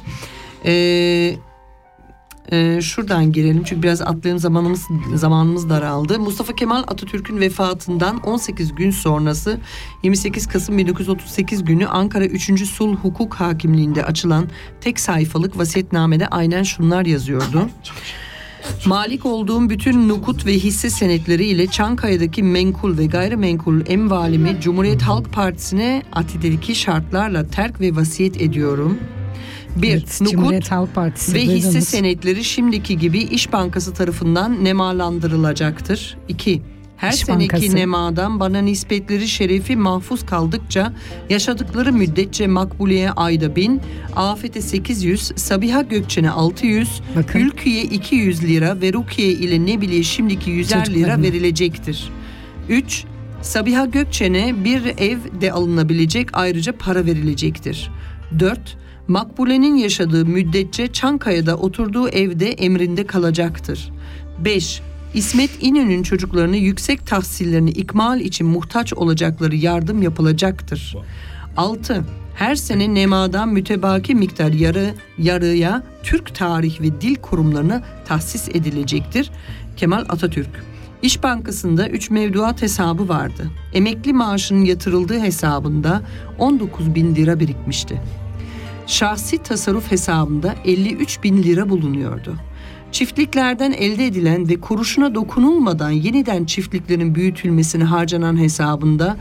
Şuradan girelim çünkü biraz atlayalım, zamanımız daraldı. Mustafa Kemal Atatürk'ün vefatından 18 gün sonrası 28 Kasım 1938 günü Ankara 3. Sulh Hukuk Hakimliği'nde açılan tek sayfalık vasiyetnamede aynen şunlar yazıyordu. Malik olduğum bütün nukut ve hisse senetleri ile Çankaya'daki menkul ve gayrimenkul emvalimi Cumhuriyet Halk Partisi'ne atideki şartlarla terk ve vasiyet ediyorum. 1. Evet, Nukut Halk Partisi, ve hisse duydunuz. senetleri şimdiki gibi İş Bankası tarafından nemalandırılacaktır. 2. Her İş seneki Bankası. nemadan bana nispetleri şerefi mahfuz kaldıkça yaşadıkları müddetçe Makbule'ye ayda 1000, Afet'e 800, Sabiha Gökçen'e 600, Bakın. Ülkü'ye 200 lira ve Rukiye ile Nebile'ye şimdiki 100'er lira Çocuklarına. verilecektir. 3. Sabiha Gökçen'e bir ev de alınabilecek, ayrıca para verilecektir. 4. Makbule'nin yaşadığı müddetçe Çankaya'da oturduğu evde emrinde kalacaktır. 5. İsmet İnönü'nün çocuklarını yüksek tahsillerini ikmal için muhtaç olacakları yardım yapılacaktır. 6. Her sene nemadan mütebaki miktar yarıya Türk Tarih ve Dil Kurumlarına tahsis edilecektir. Kemal Atatürk. İş Bankası'nda 3 mevduat hesabı vardı. Emekli maaşının yatırıldığı hesabında 19.000 lira birikmişti. Şahsi tasarruf hesabında 53.000 lira bulunuyordu. Çiftliklerden elde edilen ve kuruşuna dokunulmadan yeniden çiftliklerin büyütülmesine harcanan hesabında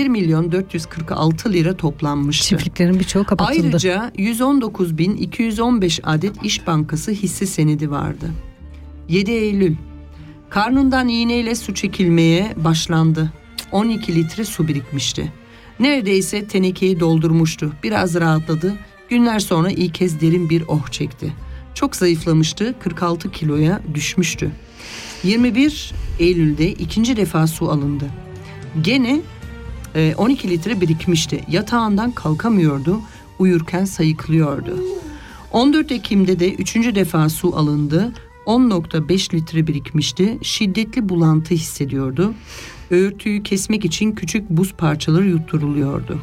1.446 lira toplanmıştı. Çiftliklerin birçoğu kapatıldı. Ayrıca 119.215 adet İş Bankası hisse senedi vardı. 7 Eylül. Karnından iğneyle su çekilmeye başlandı. 12 litre su birikmişti. Neredeyse tenekeyi doldurmuştu. Biraz rahatladı. Günler sonra ilk kez derin bir oh çekti. Çok zayıflamıştı, 46 kiloya düşmüştü. 21 Eylül'de ikinci defa su alındı. Gene 12 litre birikmişti. Yatağından kalkamıyordu, uyurken sayıklıyordu. 14 Ekim'de de üçüncü defa su alındı. 10.5 litre birikmişti. Şiddetli bulantı hissediyordu. Örtüyü kesmek için küçük buz parçaları yutturuluyordu.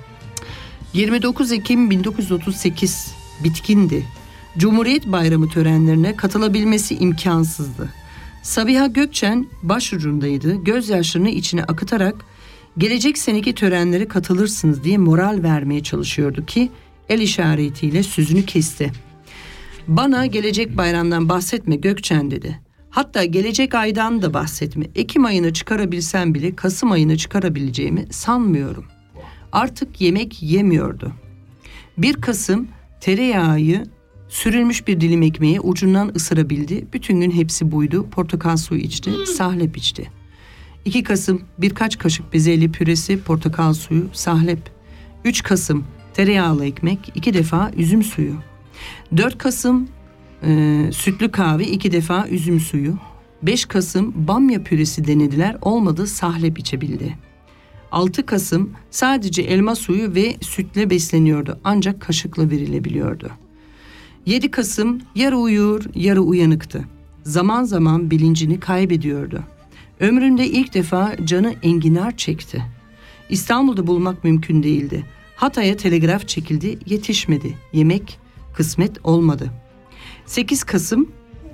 29 Ekim 1938 bitkindi. Cumhuriyet Bayramı törenlerine katılabilmesi imkansızdı. Sabiha Gökçen başucundaydı. Gözyaşlarını içine akıtarak gelecek seneki törenlere katılırsınız diye moral vermeye çalışıyordu ki el işaretiyle sözünü kesti. Bana gelecek bayramdan bahsetme Gökçen dedi. Hatta gelecek aydan da bahsetme. Ekim ayını çıkarabilsem bile Kasım ayını çıkarabileceğimi sanmıyorum. Artık yemek yemiyordu. 1 Kasım tereyağı sürülmüş bir dilim ekmeği ucundan ısırabildi. Bütün gün hepsi buydu. Portakal suyu içti, sahlep içti. 2 Kasım birkaç kaşık bezelye püresi, portakal suyu, sahlep. 3 Kasım tereyağlı ekmek, 2 defa üzüm suyu. 4 Kasım sütlü kahve, 2 defa üzüm suyu. 5 Kasım bamya püresi denediler, olmadı, sahlep içebildi. 6 Kasım sadece elma suyu ve sütle besleniyordu, ancak kaşıkla verilebiliyordu. 7 Kasım yarı uyur yarı uyanıktı. Zaman zaman bilincini kaybediyordu. Ömründe ilk defa canı enginar çekti. İstanbul'da bulmak mümkün değildi. Hatay'a telgraf çekildi, yetişmedi. Yemek kısmet olmadı. 8 Kasım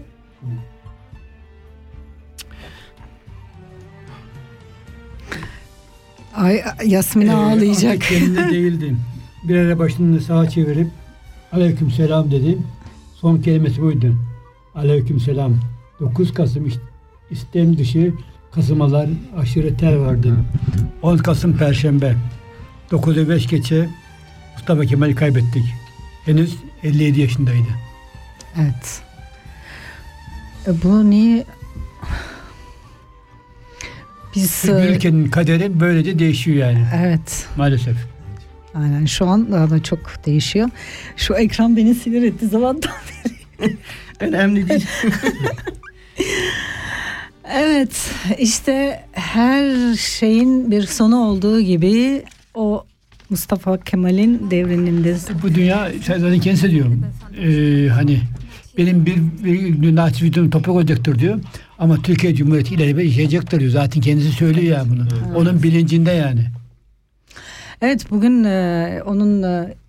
Ay Yasmin ağlayacak. Artık kendinde değildim. Bir ara başını sağa çevirip aleyküm selam dedim. Son kelimesi buydu. Aleyküm selam. 9 Kasım istem dışı kasımalar, aşırı ter vardı. 10 Kasım Perşembe. 9'u 5 geçe Mustafa Kemal'i kaybettik. Henüz 57 yaşındaydı. Evet. Bu niye? Biz Bir ülkenin kaderi böylece değişiyor yani. Evet. Maalesef. Aynen, şu an daha da çok değişiyor. Şu ekran beni sinir etti zamandan beri. önemli değil. Evet, işte her şeyin bir sonu olduğu gibi o Mustafa Kemal'in devrinin de... Bu dünya zaten kendisi diyor. Hani benim bir gün naçiz videom toprak olacaktır diyor. Ama Türkiye Cumhuriyeti ileride yaşayacaktır diyor. Zaten kendisi söylüyor ya bunu. Evet. Onun bilincinde yani. Evet, bugün onun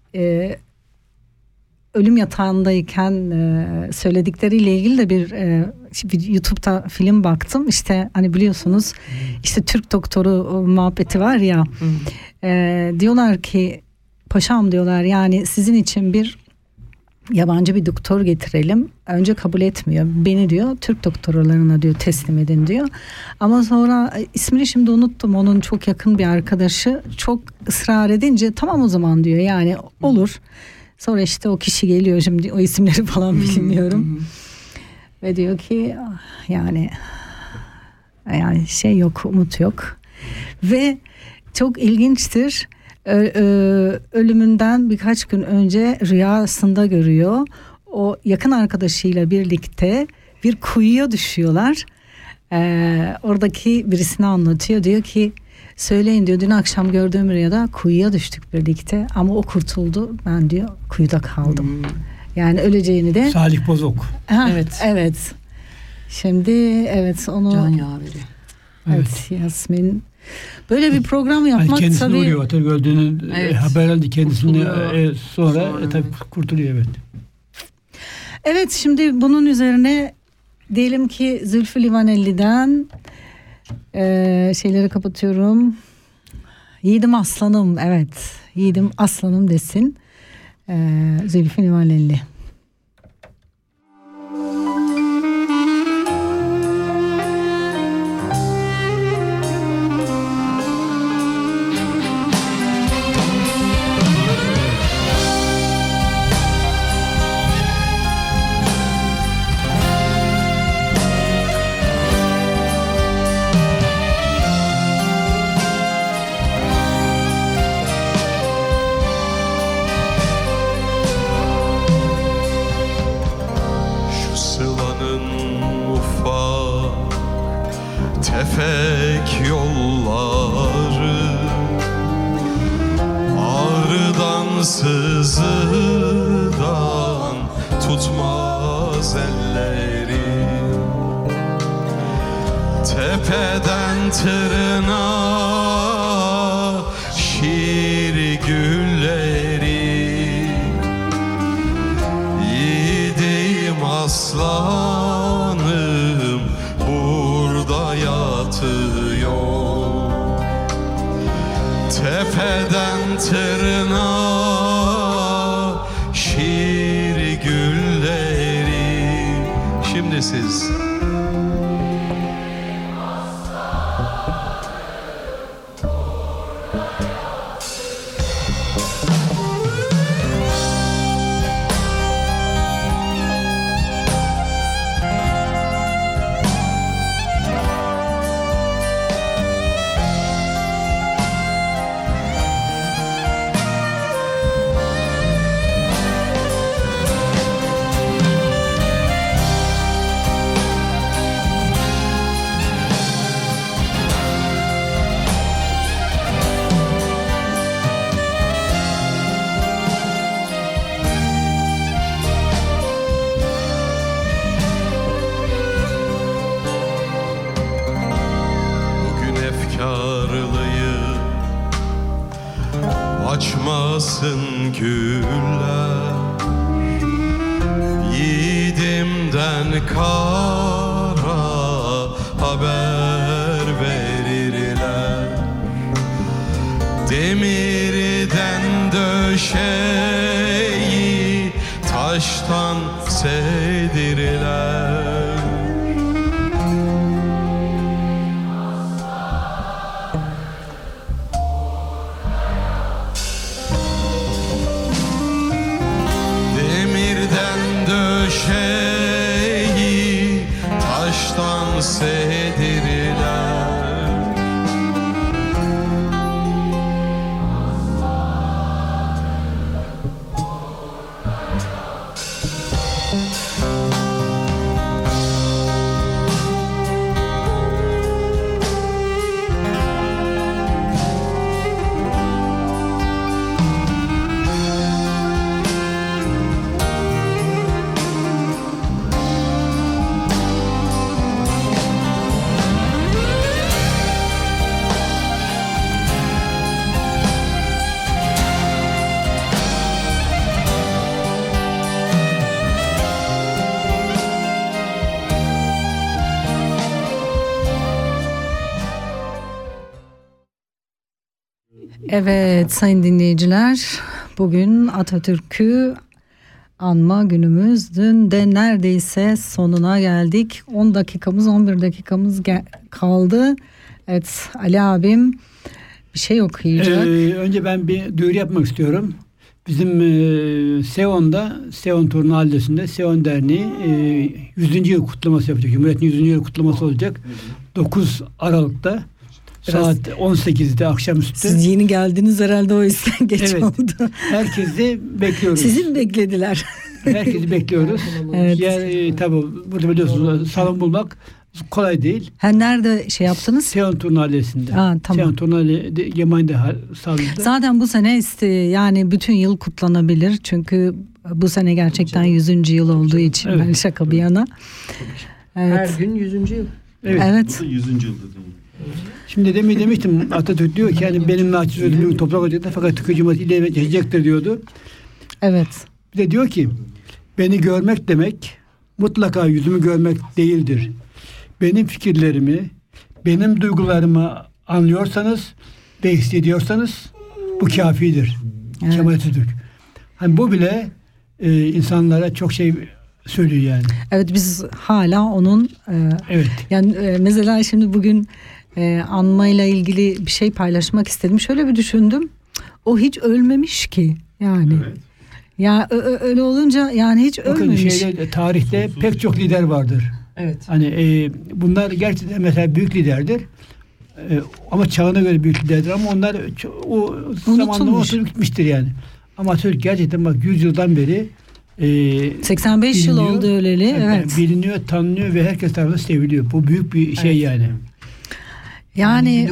ölüm yatağındayken söyledikleriyle ilgili de bir YouTube'da film baktım. İşte hani biliyorsunuz işte Türk doktoru muhabbeti var ya. Diyorlar ki paşam diyorlar, yani sizin için bir yabancı bir doktor getirelim. Önce kabul etmiyor. Beni diyor Türk doktorlarına diyor teslim edin diyor. Ama sonra ismini şimdi unuttum. Onun çok yakın bir arkadaşı çok ısrar edince tamam o zaman diyor. Yani olur. Sonra işte o kişi geliyor, şimdi o isimleri falan bilmiyorum. Ve diyor ki yani şey yok, umut yok. Ve çok ilginçtir. Ölümünden birkaç gün önce rüyasında görüyor. O yakın arkadaşıyla birlikte bir kuyuya düşüyorlar. Oradaki birisine anlatıyor. Diyor ki söyleyin diyor, dün akşam gördüğüm rüyada kuyuya düştük birlikte ama o kurtuldu. Ben diyor kuyuda kaldım. Yani öleceğini de. Salih Bozok. Evet. Şimdi evet onu. Can yaveri. Evet Yasmin. Böyle bir program yapmak kendisini tabii. Kendisini vuruyor. Öldüğünü haber aldı kendisini sonra tabii kurtuluyor evet. Evet, şimdi bunun üzerine diyelim ki Zülfü Livaneli'den şeyleri kapatıyorum. Yiğidim aslanım, evet. Yiğidim aslanım desin. Zülfü Livaneli. Tefek yolları ağrıdan sızıdan tutmaz elleri, tepeden tırnağa şiir gülleri, yiğidim aslanım burada yatıyor, tepeden tırnağa şiir gülleri. Şimdi siz. Açmasın güller, yiğidimden kara haber verirler, demirden döşeyi taştan sevdirirler. Şeyi taştan sevdirirler. Evet sayın dinleyiciler, bugün Atatürk'ü anma günümüz. Dün de neredeyse sonuna geldik. 10 dakikamız 11 dakikamız kaldı. Evet, Ali abim bir şey okuyacak. Önce ben bir duyuru yapmak istiyorum. Bizim Seon'da, Turnu Mahallesi'nde Seon Derneği 100. yıl kutlaması yapacak. Cumhuriyet'in 100. yıl kutlaması olacak. 9 Aralık'ta saat 18'de akşamüstü. Siz yeni geldiniz herhalde, o yüzden geç oldu. Herkesi bekliyoruz. Sizi mi beklediler? Herkesi bekliyoruz. Evet. Yani, tabii burada biliyorsunuz salon bulmak kolay değil. Nerede şey yaptınız? Seon Turnu Mahallesi'nde. Tamam. Seon Turnu Mahallesi'nde Gemay'da sağladı. Zaten bu sene yani bütün yıl kutlanabilir. Çünkü bu sene gerçekten 100. yıl olduğu için, ben şaka bir yana. Evet. Her gün 100. yıl. Evet. Bu da 100. yılda. Şimdi demiştim, Atatürk diyor ki yani benim naçiz ölümüm toprak olacaktır fakat Türkiye Cumhuriyeti ileri geçecektir diyordu. Evet. Bir de diyor ki beni görmek demek mutlaka yüzümü görmek değildir. Benim fikirlerimi, benim duygularımı anlıyorsanız ve hissediyorsanız bu kafidir. Evet. Kemal Atatürk. Hani bu bile insanlara çok şey söylüyor yani. Evet, biz hala onun evet. Yani mesela şimdi bugün anmayla ilgili bir şey paylaşmak istedim. Şöyle bir düşündüm. O hiç ölmemiş ki yani. Evet. Ya öyle olunca yani hiç ölmemiş. Tarihte pek çok lider vardır. Evet. Hani bunlar gerçekten mesela büyük liderdir. Ama çağına göre büyük liderdir ama onlar o zamanla oturup gitmiştir yani. Ama Türk gerçekten bak 100 yıldan beri 85 yıl oldu öleli. Evet. Biliniyor, tanınıyor ve herkes tarafından seviliyor. Bu büyük bir şey yani. Yani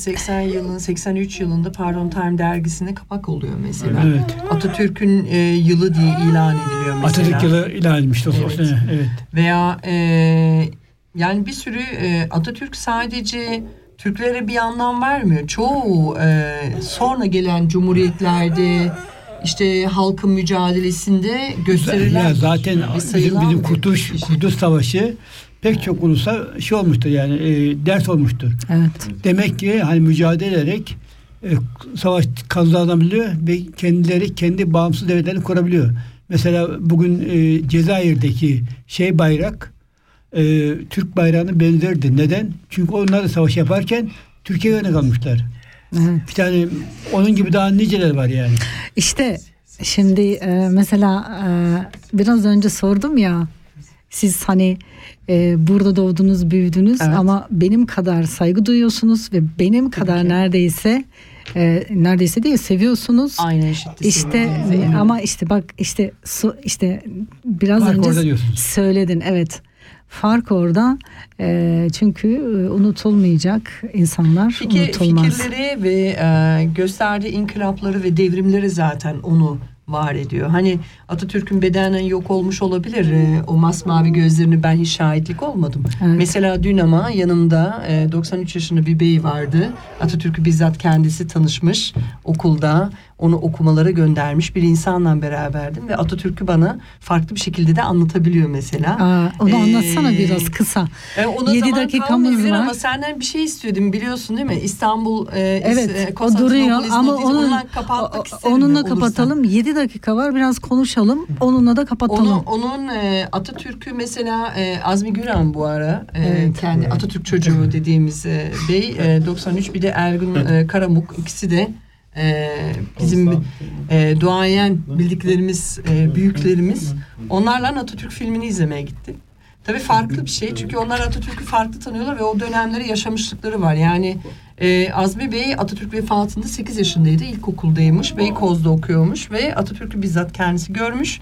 1983 yılında Time dergisinde kapak oluyor mesela. Evet. Atatürk'ün yılı diye ilan ediliyor mesela. Atatürk yılı ilan edilmişti o sene. Evet. Veya yani bir sürü Atatürk sadece Türklere bir anlam vermiyor. Çoğu sonra gelen cumhuriyetlerde işte halkın mücadelesinde gösterilen ya zaten bizim Kurtuluş Savaşı pek çok ulusa şey olmuştur yani ders olmuştur. Evet. Demek ki hani mücadele ederek savaş kazanabiliyor ve kendileri kendi bağımsız devletlerini kurabiliyor. Mesela bugün Cezayir'deki bayrak Türk bayrağına benzerdi. Neden? Çünkü onlar da savaş yaparken Türkiye'ye örnek almışlar. Evet. Bir tane onun gibi daha niceler var yani. İşte şimdi mesela biraz önce sordum ya, siz hani burada doğdunuz, büyüdünüz ama benim kadar saygı duyuyorsunuz ve benim kadar neredeyse değil seviyorsunuz. Aynı eşitlik. İşte ama işte bak işte biraz fark önce söyledin, evet. Fark orada çünkü unutulmayacak insanlar, unutulmaz. Fikirleri ve gösterdiği inkılapları ve devrimleri zaten onu var ediyor. Hani Atatürk'ün bedenen yok olmuş olabilir. O masmavi gözlerini ben hiç şahitlik olmadım. Evet. Mesela dün ama yanımda 93 yaşında bir bey vardı. Atatürk'ü bizzat kendisi tanışmış okulda. Onu okumalara göndermiş bir insanla beraberdim ve Atatürk'ü bana farklı bir şekilde de anlatabiliyor mesela. Onu anlatsana biraz kısa. 7 dakikamız var. Ama senden bir şey istiyordum, biliyorsun değil mi? İstanbul evet, o duruyor ama onunla kapatalım. 7 dakika var, biraz konuşalım. Onunla da kapatalım. Onun Atatürk'ü mesela Azmi Güran bu ara kendi Atatürk çocuğu dediğimiz bey 93, bir de Ergun Karamuk, ikisi de bizim duayen bildiklerimiz, büyüklerimiz. Onlarla Atatürk filmini izlemeye gitti. Tabii farklı bir şey çünkü onlar Atatürk'ü farklı tanıyorlar ve o dönemleri yaşamışlıkları var. Yani Azmi Bey Atatürk vefatında 8 yaşındaydı, ilkokuldaymış, Beykoz'da okuyormuş ve Atatürk'ü bizzat kendisi görmüş.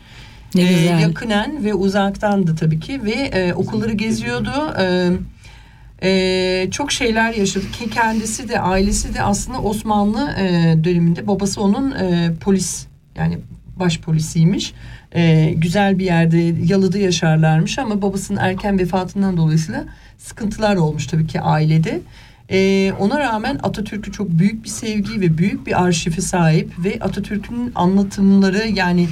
Yakınen ve uzaktan da tabii ki ve okulları geziyordu. Çok şeyler yaşadı ki kendisi de ailesi de aslında Osmanlı döneminde, babası onun polis, yani başpolisiymiş. Güzel bir yerde Yalı'da yaşarlarmış ama babasının erken vefatından dolayısıyla sıkıntılar olmuş tabii ki ailede. Ona rağmen Atatürk'ü çok büyük bir sevgi ve büyük bir arşivi sahip ve Atatürk'ün anlatımları, yani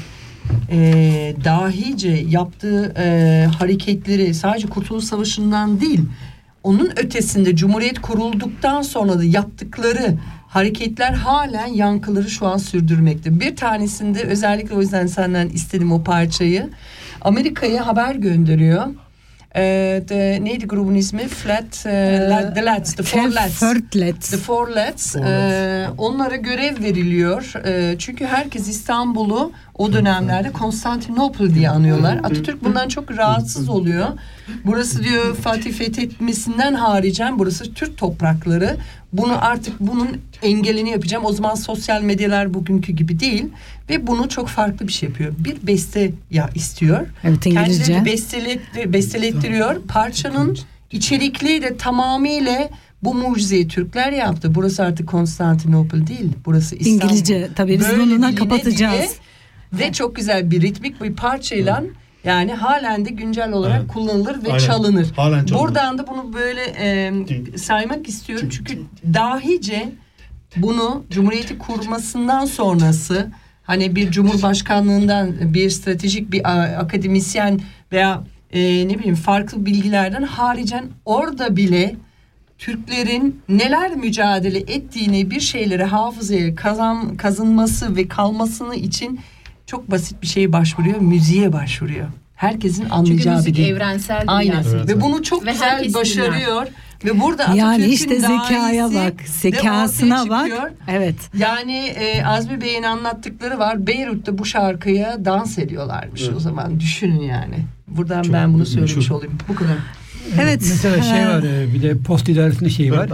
dahice yaptığı hareketleri sadece Kurtuluş Savaşı'ndan değil, onun ötesinde Cumhuriyet kurulduktan sonra da yaptıkları hareketler halen yankıları şu an sürdürmekte. Bir tanesinde özellikle o yüzden senden istedim o parçayı. Amerika'ya haber gönderiyor. Neydi grubun ismi? The Lads. The Four Lads. Onlara görev veriliyor. Çünkü herkes İstanbul'u o dönemlerde Konstantinopol diye anıyorlar. Atatürk bundan çok rahatsız oluyor. Burası diyor Fatih fethetmesinden haricen burası Türk toprakları. Bunun engelini yapacağım. O zaman sosyal medyalar bugünkü gibi değil ve bunu çok farklı bir şey yapıyor. Bir beste istiyor. Evet, İngilizce. Kendileri bestelettiriyor. Parçanın içerikliği de tamamıyla bu mucizeyi Türkler yaptı. Burası artık Konstantinopol değil. Burası İstanbul. İngilizce. Tabii biz bununla kapatacağız. Ve çok güzel bir ritmik bir parçayla yani halen de güncel olarak kullanılır ve çalınır. Buradan da bunu böyle saymak istiyorum. Çünkü dahice bunu Cumhuriyeti kurmasından sonrası hani bir cumhurbaşkanlığından bir stratejik bir akademisyen veya farklı bilgilerden haricen orada bile Türklerin neler mücadele ettiğini bir şeyleri hafızaya kazınması ve kalmasını için çok basit bir şeye başvuruyor. Müziğe başvuruyor. Herkesin anlayacağı bir dil. Çünkü müzik evrensel. Aynen. Evet. Ve bunu çok güzel başarıyor. Ve burada Atatürk'ün yani işte zekaya bak, zekasına bak. Evet. Yani Azmi Bey'in anlattıkları var. Beyrut'ta bu şarkıya dans ediyorlarmış o zaman. Düşünün yani. Buradan çok ben bunu söylemiş olayım. Bu kadar. Evet. Mesela var bir de post idaresinde var.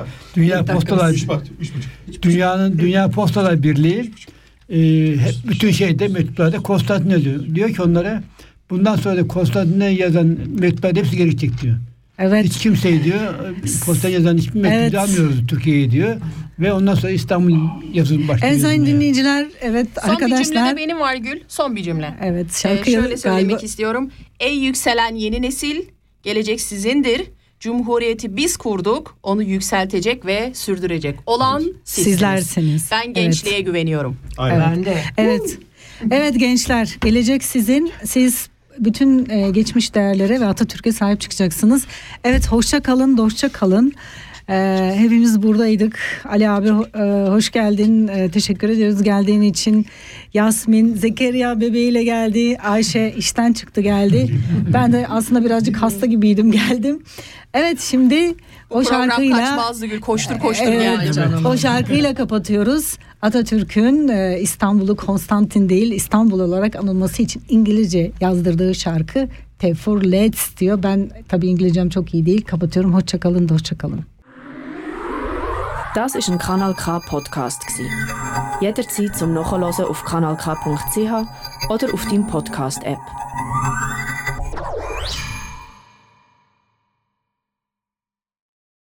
Dünya Postalar Birliği bütün mektuplarda Konstantin'e diyor ki onlara bundan sonra da Konstantin'e yazan mektuplar hepsi gerekecek diyor. Evet. Hiç kimseyi diyor Konstantin'e yazan hiçbir mektubu almıyoruz Türkiye'ye diyor. Ve ondan sonra İstanbul yazılım başlıyor. Evet sayın dinleyiciler, son arkadaşlar. Son bir cümle de benim var Gül. Son bir cümle. Evet. Şarkıyı şöyle söylemek istiyorum. Ey yükselen yeni nesil, gelecek sizindir. Cumhuriyeti biz kurduk, onu yükseltecek ve sürdürecek olan sizlersiniz. Ben gençliğe güveniyorum. Aynen. Ben de. Evet. Evet gençler, gelecek sizin. Siz bütün geçmiş değerlere ve Atatürk'e sahip çıkacaksınız. Evet, hoşça kalın, dostça kalın. Hepimiz buradaydık. Ali abi hoş geldin. Teşekkür ediyoruz geldiğin için. Yasmin, Zekeriya bebeğiyle geldi. Ayşe işten çıktı geldi. Ben de aslında birazcık hasta gibiydim, geldim. Evet, şimdi o şarkıyla kaçmazdı Gül, koştur yani canım. O şarkıyla kapatıyoruz. Atatürk'ün İstanbul'u Konstantin değil İstanbul olarak anılması için İngilizce yazdırdığı şarkı The Four Lads diyor. Ben tabii İngilizcem çok iyi değil. Kapatıyorum. Hoşça kalın, dostça kalın. Das ist ein Kanal K Podcast gsi. Jederzeit zum Nachhören auf kanalk.ch oder auf deinem Podcast App.